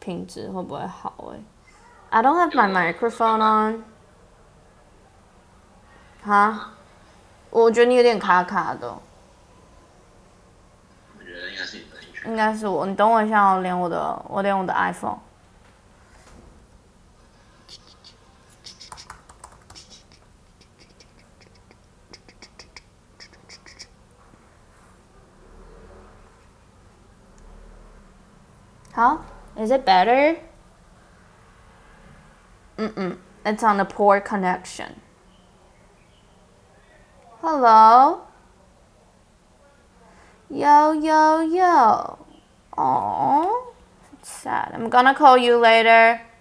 品质会不会好？I don't have my microphone on。哈？我觉得你有点卡卡的。 我觉得应该是你的音讯。 应该是我，你等我一下，我连我的 iPhone。好 ，Is it better? It's on a poor connection. Hello? Yo, yo, yo. Aww. It's sad. I'm gonna call you later.